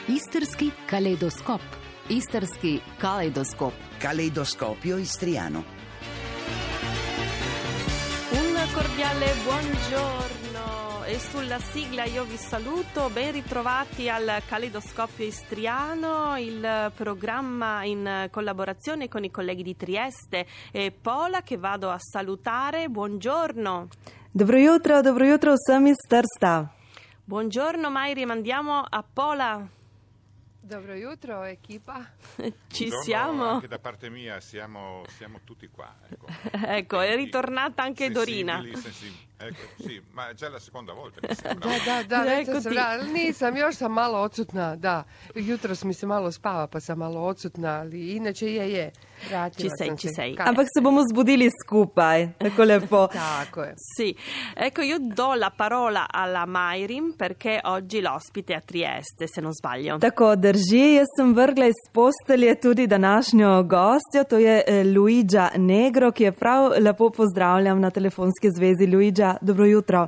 Istrski kaleidoskop. Istrski kaleidoskop. Caleidoscopio istriano. Un cordiale buongiorno e sulla sigla io vi saluto, ben ritrovati al Caleidoscopio Istriano, il programma in collaborazione con i colleghi di Trieste e Pola che vado a salutare. Buongiorno. Dobro jutro vsem iz Trsta. Buongiorno Mairi, mandiamo a Pola. Dobro jutro, equipa. Ci Buongiorno, siamo. anche da parte mia siamo tutti qua. Ecco, è ritornata anche Dorina. Sì, ma è già la seconda volta. Mi sembra. Nisam, još sam malo odsutna, da. Jutros mi se malo spava, pa sam malo odsutna, ali inače je. Vratila sam Ci se. sei. Ampak se bomo zbudili skupaj, tako lepo. Tako je. Sì, ecco io do la parola alla Mayrim perché oggi l'ospite è a Trieste, se non sbaglio. Tako drži, jaz sem vrgla iz postelje tudi današnjo gostjo, to je Luigia Negro, ki je prav lepo pozdravljam na telefonski zvezi. Luigia, dobro jutro.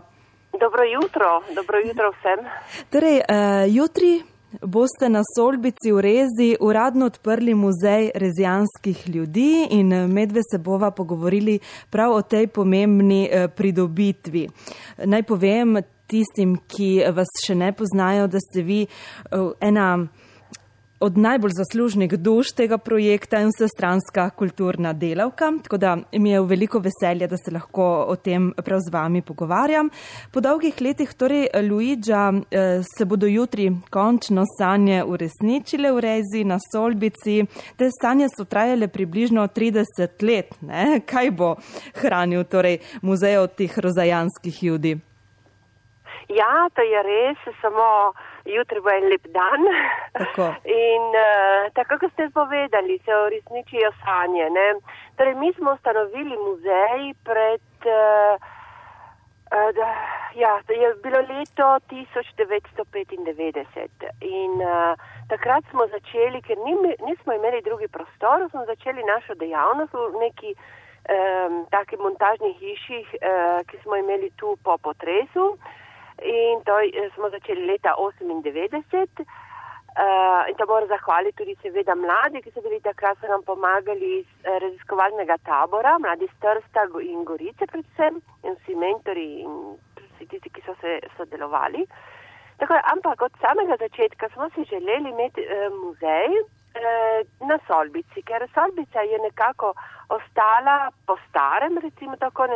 Dobro jutro vsem. Torej, jutri boste na Solbici v Rezi uradno odprli muzej rezijanskih ljudi in medve se bova pogovorili prav o tej pomembni pridobitvi. Naj povem tistim, ki vas še ne poznajo, da ste vi ena od najbolj zaslužnih duš tega projekta in vsestranska kulturna delavka, tako da mi je veliko veselje, da se lahko o tem prav z vami pogovarjam. Po dolgih letih, torej, Luigia, se bodo jutri končno sanje uresničile v Rezi na Solbici. Te sanje so trajale približno 30 let, ne? Kaj bo hranil torej muzej od teh rozajanskih ljudi? Ja, to je res, samo jutri bo en lep dan. Tako. In tako, kot ste povedali, se uresničijo sanje. Ne? Torej, mi smo ustanovili muzej pred, je bilo leto 1995 in takrat smo začeli, ker nismo imeli drugi prostor, smo začeli našo dejavnost v neki taki montažni hiši, ki smo imeli tu po potresu. In to smo začeli leta 1998 in to moram zahvaliti tudi seveda mladi, ki so bili takrat, so nam pomagali iz raziskovalnega tabora, mladi iz Trsta in Gorice predvsem in vsi mentori in vsi tisti, ki so se sodelovali. Tako, ampak od samega začetka smo si želeli imeti muzej na Solbici, ker Solbica je nekako ostala po starem, recimo tako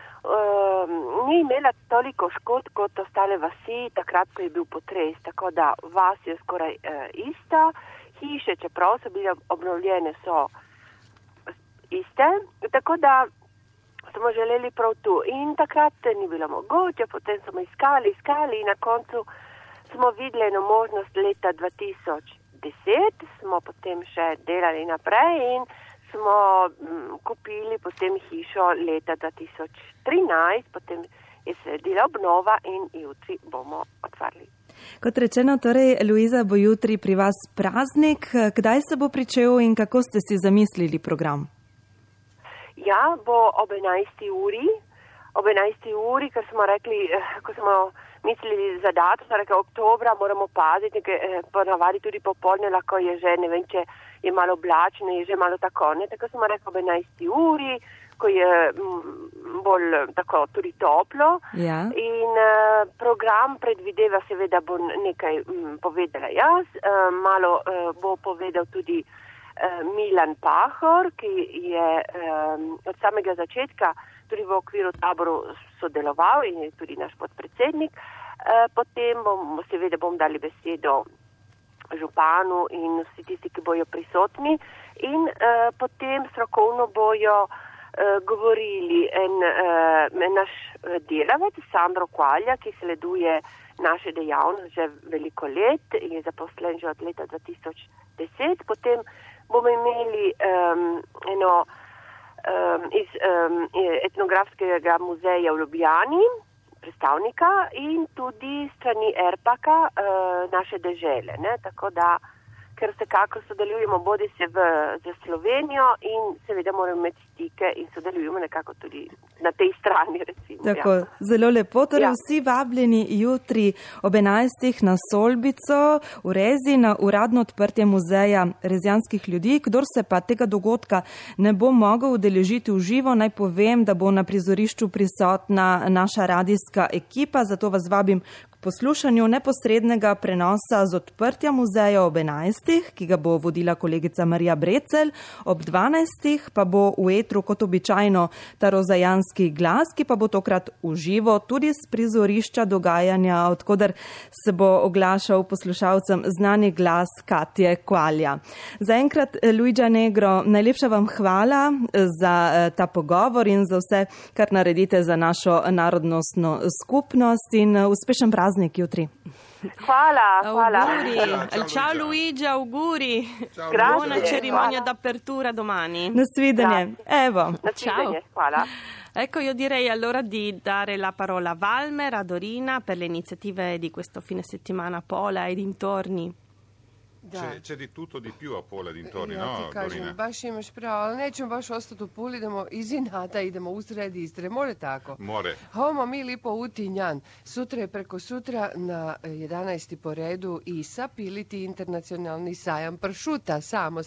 ni imela toliko škod kot ostale vasi, takrat, ko je bil potres, tako da vas je skoraj ista, hiše, čeprav so bile obnovljene, so iste, tako da smo želeli prav tu. In takrat ni bilo mogoče, potem smo iskali in na koncu smo videli eno možnost leta 2010, smo potem še delali naprej in smo kupili potem hišo leta 2013, potem je sledila obnova in jutri bomo otvarli. Kot rečeno, torej, Luiza, bo jutri pri vas praznik. Kdaj se bo pričel in kako ste si zamislili program? Ja, bo ob 11. uri, ker smo rekli, ko smo mislili za datum, smo rekli, oktobra moramo paziti, ponavadi tudi popoldne lahko je že, ne vem, če je malo oblačno, je že malo tako, ne, tako smo rekli ob 11. uri, ko je bolj tako tudi toplo. Ja. In program predvideva seveda bo nekaj povedala jaz, malo bo povedal tudi Milan Pahor, ki je od samega začetka tudi v okviru taboru sodeloval in je tudi naš podpredsednik. Potem bom dali besedo županu in vsi tisti, ki bojo prisotni. In potem strokovno bojo govorili naš delavec Sandro Kvalja, ki sleduje naše dejavnosti že veliko let in je zaposlen že od leta 2010. Potem bomo imeli iz etnografskega muzeja v Ljubljani predstavnika in tudi strani Erpaka naše dežele. Ne? Tako da ker vsekakor sodelujemo bodi se z Slovenijo in seveda moramo imeti stike in sodelujemo nekako tudi na tej strani, recimo. Tako, zelo lepo. Torej, vsi vabljeni jutri ob 11. na Solbico v Rezi na uradno odprtje muzeja rezijanskih ljudi. Kdor se pa tega dogodka ne bo mogel udeležiti v živo, naj povem, da bo na prizorišču prisotna naša radijska ekipa, zato vas vabim k poslušanju neposrednega prenosa z odprtja muzeja ob 11. ki ga bo vodila kolegica Marija Brecelj, ob 12. pa bo v etru kot običajno ta rozajanski glas, ki pa bo tokrat v živo tudi z prizorišča dogajanja, odkudar se bo oglašal poslušalcem znani glas Katje Kvalja. Zaenkrat, Luigi Negro, najlepša vam hvala za ta pogovor in za vse, kar naredite za našo narodnostno skupnost in uspešen praznik jutri. Hvala. Ciao Luigi, auguri. Grazie. Buona cerimonia d'apertura domani. Nasvidenje. Evo. Ciao. Hvala. Ecco, io direi allora di dare la parola a Valmer, a Dorina per le iniziative di questo fine settimana a Pola e dintorni. C'è di tutto di più a Pola dintorni, ja no, ti kažem, Dorina? baš imaš pravo, ali nećemo baš ostati u Puli, idemo iz Inata, idemo u sred Istre, more tako? More. Homo mi lipo utinjan. Sutra je preko sutra na 11. po redu ISA, Piliti internacionalni sajam pršuta,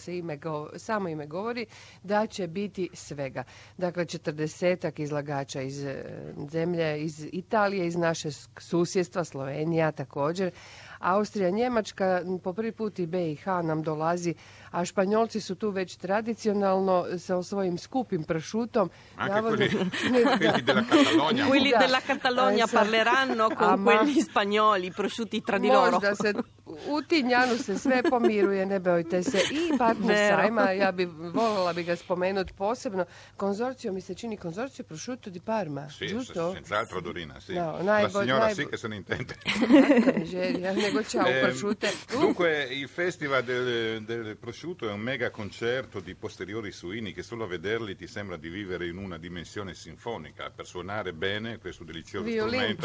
samo ime govori da će biti svega. Dakle, 40 izlagača iz zemlje, iz Italije, iz naše susjedstva, Slovenija također, Austrija, Njemačka, po prvi put i BiH nam dolazi, a Španjolci su tu već tradicionalno sa svojim skupim pršutom. Quelli della Catalogna. Quelli della Catalogna parleranno con quelli spagnoli, prosciutti tra di loro. Možda se u Tinjanu se sve pomiruje, ne bojte se. I partner sajma, voljela bi ga spomenuti posebno. Konzorcio, mi se čini konzorcio prosciutto di Parma. Sì, senz'altro Dorina, sì. No, la signora sì che se ne intende. Nego ciao prosciutte. Dunque, il Festival del prosciutto è un mega concerto di posteriori suini che solo a vederli ti sembra di vivere in una dimensione sinfonica. Per suonare bene questo delizioso strumento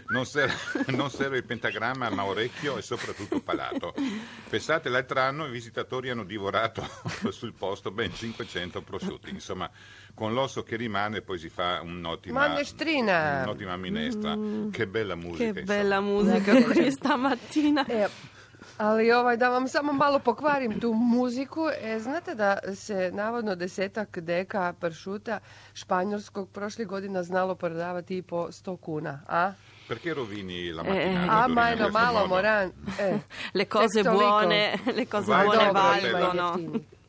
non serve il pentagramma, ma orecchio e soprattutto palato. Pensate, l'altro anno i visitatori hanno divorato sul posto ben 500 prosciutti. Insomma, con l'osso che rimane poi si fa un'ottima minestra. Che bella musica. Che bella musica questa mattina. Ali da vam samo malo pokvarim tu muziku, znate da se navodno 10 deka pršuta španjolskog prošle godina znalo prodavati i po 100 kuna, a? Perché rovini la mattinata? Ma malo moran. Le cose buone valgono.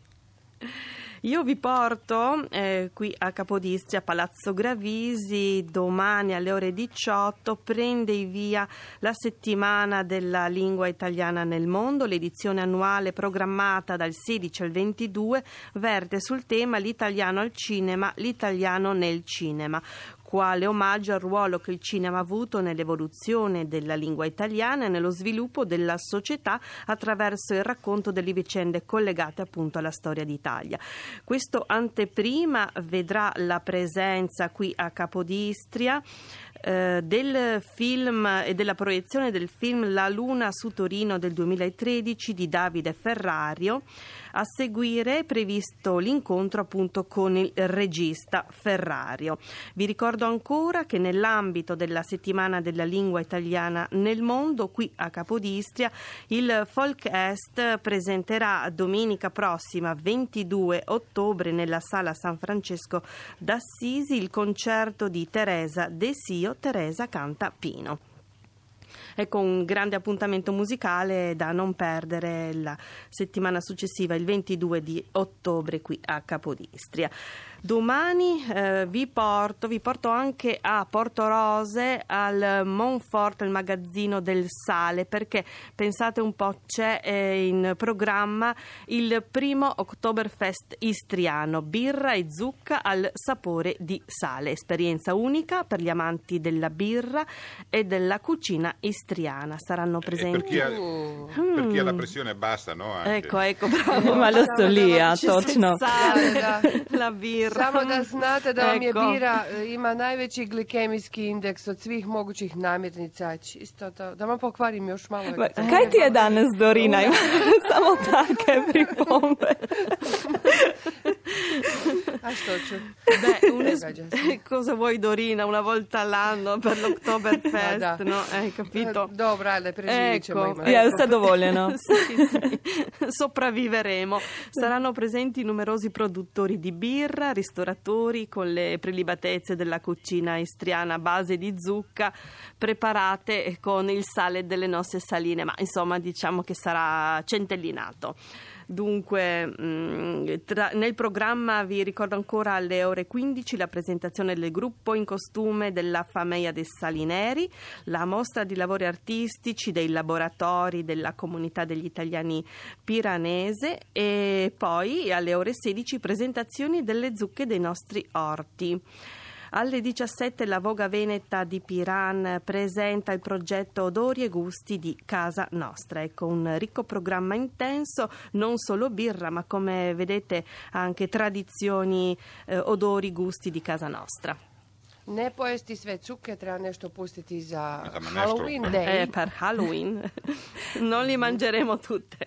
Io vi porto qui a Capodistria, Palazzo Gravisi, domani alle ore 18 prende il via la settimana della lingua italiana nel mondo. L'edizione annuale programmata dal 16 al 22 verte sul tema l'italiano al cinema, l'italiano nel cinema. Quale omaggio al ruolo che il cinema ha avuto nell'evoluzione della lingua italiana e nello sviluppo della società attraverso il racconto delle vicende collegate appunto alla storia d'Italia. Questo anteprima vedrà la presenza qui a Capodistria del film e della proiezione del film La Luna su Torino del 2013 di Davide Ferrario. A seguire è previsto l'incontro appunto con il regista Ferrario. Vi ricordo ancora che nell'ambito della settimana della lingua italiana nel mondo, qui a Capodistria, il Folk Est presenterà domenica prossima 22 ottobre nella Sala San Francesco d'Assisi il concerto di Teresa Desio, Teresa canta Pino. Ecco un grande appuntamento musicale da non perdere la settimana successiva, il 22 di ottobre qui a Capodistria. Domani vi porto anche a Portorose al Monfort, il magazzino del sale, perché pensate un po', c'è in programma il primo Oktoberfest istriano, birra e zucca al sapore di sale, esperienza unica per gli amanti della birra e della cucina istriana. Saranno presenti per chi ha la pressione bassa, no? Anche. Ecco, bravo. Ma lo so lì, точно. La birra. birra. Samo da znate da vam je Ecco. bira ima najveći glikemijski indeks od svih mogućih namirnica. Čisto da vam pokvarim još malo. Kaj ti je danes, Dorina? Ima samo take pripombe. A što ću? Cosa vuoi Dorina una volta all'anno per l'Oktoberfest, Da. no? Hai capito? Dobro, ajde, preživit ćemo. Ecco. Ima. Ja, vse dovoljeno. Sì. Sopravviveremo. Saranno presenti numerosi produttori di birra, ristoratori con le prelibatezze della cucina istriana a base di zucca preparate con il sale delle nostre saline, ma insomma diciamo che sarà centellinato. Dunque, nel programma vi ricordo ancora alle ore 15 la presentazione del gruppo in costume della Famiglia dei Salineri, la mostra di lavori artistici dei laboratori della comunità degli italiani piranese e poi alle ore 16 presentazioni delle zucche dei nostri orti. Alle 17 la Voga Veneta di Piran presenta il progetto Odori e Gusti di Casa Nostra. Ecco, un ricco programma intenso, non solo birra, ma come vedete anche tradizioni, odori, gusti di Casa Nostra. Ne pojesti sve cuke, treba nešto pustiti za Za Halloween Day. Per Halloween non li mangeremo tutte.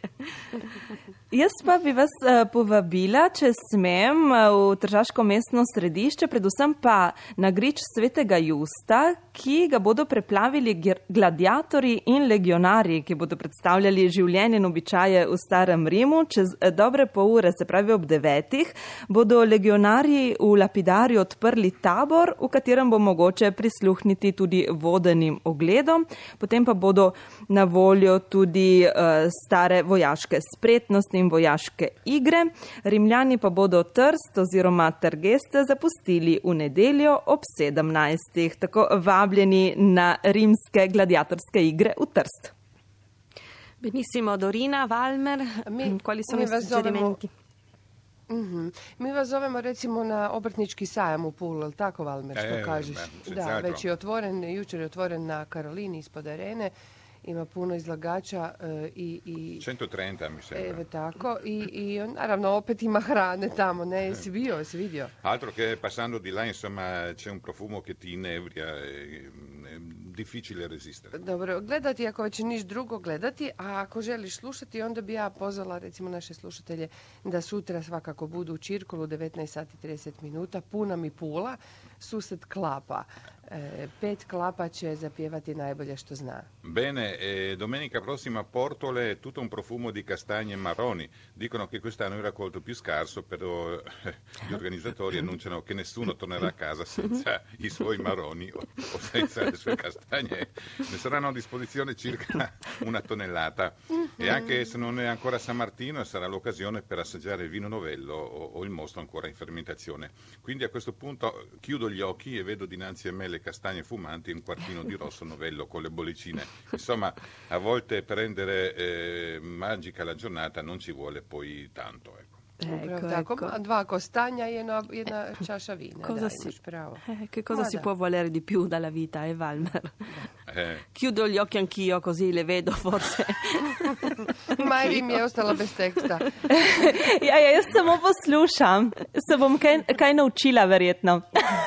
Jaz pa bi vas povabila, če smem, v Tržaško mestno središče, predvsem pa na grič Svetega Justa, ki ga bodo preplavili gladiatorji in legionarji, ki bodo predstavljali življenje in običaje v starem Rimu. Čez dobre pol ure, se pravi ob 9, bodo legionarji v Lapidarju odprli tabor, v katerem bo mogoče prisluhniti tudi vodenim ogledom. Potem pa bodo na voljo tudi stare vojaške spretnosti in vojaške igre. Rimljani pa bodo Trst oziroma Trgeste zapustili v nedeljo ob 17. Tako vabljeni na rimske gladiatorske igre v Trst. Benissimo, Dorina, Valmer, quali sono i suggerimenti? Mi vas zovemo recimo na obrtnički sajam u Pulu, ali tako Valmer što kažeš? Da, već je otvoren, jučer je otvoren na Karolini ispod arene. Ima puno izlagača i 130 mi sembra. Evo tako i naravno opet ima hrane tamo, ne? Si vidio? Altro che passando di là, insomma, c'è un profumo che ti inebria, è difficile resistere. Dobro, gledati ako već niš drugo gledati, a ako želiš slušati, onda bi ja pozvala recimo naše slušatelje da sutra svakako budu u Čirkolu 19:30, puna mi Pula, sused Klapa. 5 Klapa će zapjevati najbolje što zna. Bene, domenica prossima a Portole tutto un profumo di castagne marroni. Dicono che quest'anno è il raccolto più scarso, però gli organizzatori annunciano che nessuno tornerà a casa senza i suoi marroni o senza le sue castagne. Ne saranno a disposizione circa 1 tonnellata. E anche se non è ancora San Martino, sarà l'occasione per assaggiare il vino novello o il mosto ancora in fermentazione. Quindi a questo punto chiudo gli occhi e vedo dinanzi a me le castagne fumanti e un quartino di rosso novello con le bollicine. Insomma, a volte per rendere magica la giornata non ci vuole poi tanto, ecco. Tako, 2 kostanja e jedna čaša vina. Che cosa si può volere di più dalla vita, Valmer? Chiudo gli occhi anch'io, così le vedo forse. Majri mi je ostala bez teksta. Jaz samo poslušam. Se bom kaj naučila, verjetno.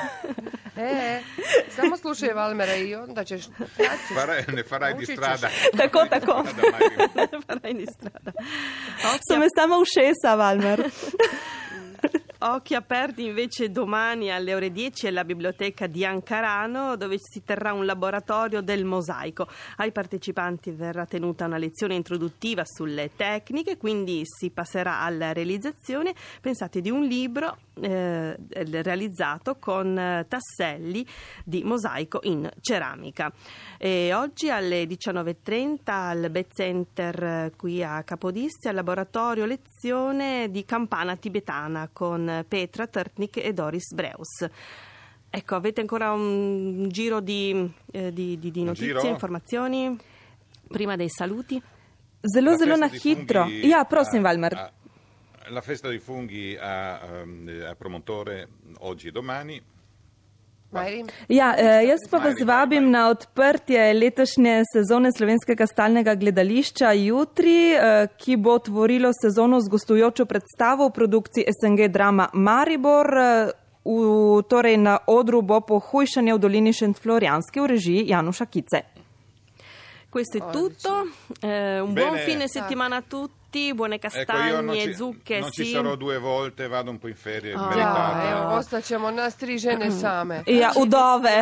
Samo slušaj Valmera i onda ćeš... Ne farai di strada. Tako. Ne farai di strada. So me samo ušesa, Valmer. Occhi aperti invece domani alle ore 10 alla biblioteca di Ancarano, dove si terrà un laboratorio del mosaico. Ai partecipanti verrà tenuta una lezione introduttiva sulle tecniche, quindi si passerà alla realizzazione, pensate, di un libro realizzato con tasselli di mosaico in ceramica. E oggi alle 19:30 al Bet Center qui a Capodistria, al laboratorio lezione di campana tibetana con Petra Trtnik e Doris Breus. Ecco, avete ancora un giro di notizie, informazioni prima dei saluti? Zelo na hitro. Ja, prosim, Valmer. La festa dei funghi a Promontore oggi e domani. Ja, jaz pa vas vabim na odprtje letošnje sezone Slovenskega stalnega gledališča jutri, ki bo tvorilo sezono z gostujočo predstavo v produkciji SNG Drama Maribor. Torej na odru bo Pohujšanje v dolini Šentflorjanski v režiji Januša Kice. Questo è tutto, un buon fine settimana a tutti, buone castagne, zucche. Non ci sarò 2 volte, vado un po' in ferie, evo, ostaćemo nas 3 žene same. Ja, udove.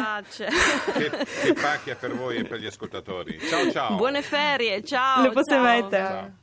Che pacchia per voi e per gli ascoltatori. Ciao ciao. Buone ferie, ciao. Lepo se ciao. imejte. Ciao.